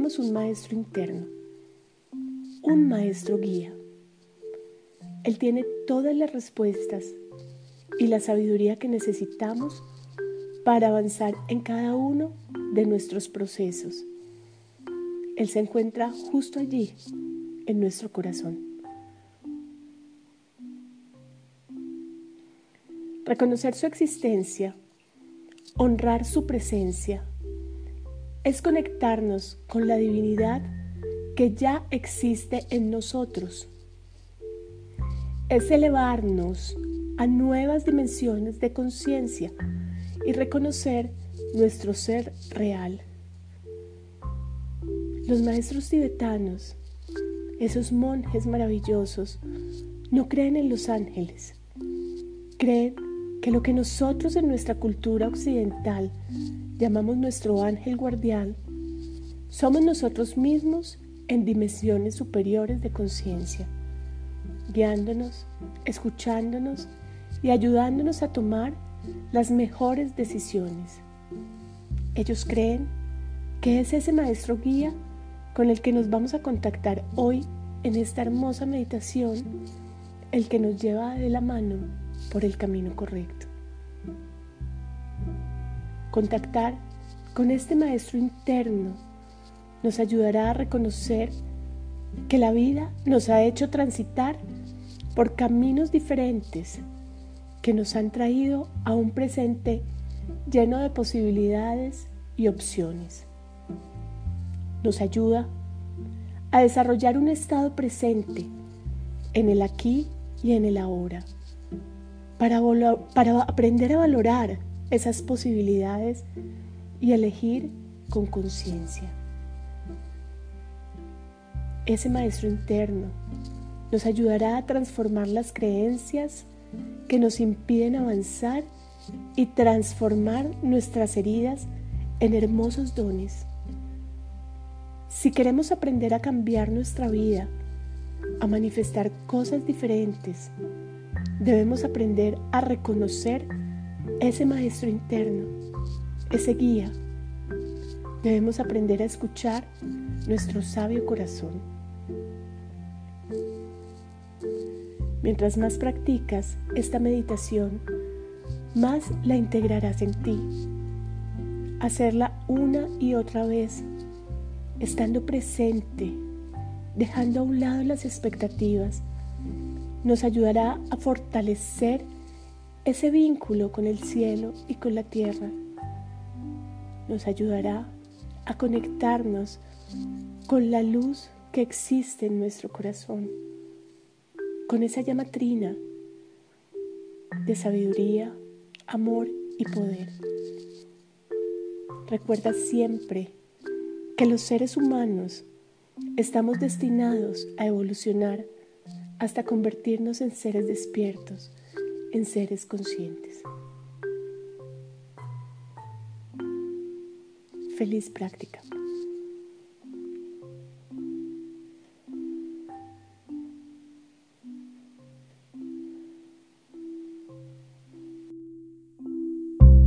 tenemos un maestro interno, un maestro guía. Él tiene todas las respuestas y la sabiduría que necesitamos para avanzar en cada uno de nuestros procesos. Él se encuentra justo allí, en nuestro corazón. Reconocer su existencia, honrar su presencia, es conectarnos con la divinidad que ya existe en nosotros. Es elevarnos a nuevas dimensiones de conciencia y reconocer nuestro ser real. Los maestros tibetanos, esos monjes maravillosos, no creen en los ángeles. Creen que lo que nosotros en nuestra cultura occidental llamamos nuestro ángel guardián, somos nosotros mismos en dimensiones superiores de conciencia, guiándonos, escuchándonos y ayudándonos a tomar las mejores decisiones. Ellos creen que es ese maestro guía con el que nos vamos a contactar hoy en esta hermosa meditación, el que nos lleva de la mano por el camino correcto. Contactar con este maestro interno nos ayudará a reconocer que la vida nos ha hecho transitar por caminos diferentes que nos han traído a un presente lleno de posibilidades y opciones. Nos ayuda a desarrollar un estado presente en el aquí y en el ahora, para aprender a valorar esas posibilidades y elegir con conciencia. Ese maestro interno nos ayudará a transformar las creencias que nos impiden avanzar y transformar nuestras heridas en hermosos dones. Si queremos aprender a cambiar nuestra vida, a manifestar cosas diferentes, debemos aprender a reconocer ese maestro interno, ese guía. Debemos aprender a escuchar nuestro sabio corazón. Mientras más practicas esta meditación, más la integrarás en ti. Hacerla una y otra vez, estando presente, dejando a un lado las expectativas, nos ayudará a fortalecer ese vínculo con el cielo y con la tierra. Nos ayudará a conectarnos con la luz que existe en nuestro corazón, con esa llama trina de sabiduría, amor y poder. Recuerda siempre que los seres humanos estamos destinados a evolucionar hasta convertirnos en seres despiertos, en seres conscientes. Feliz práctica.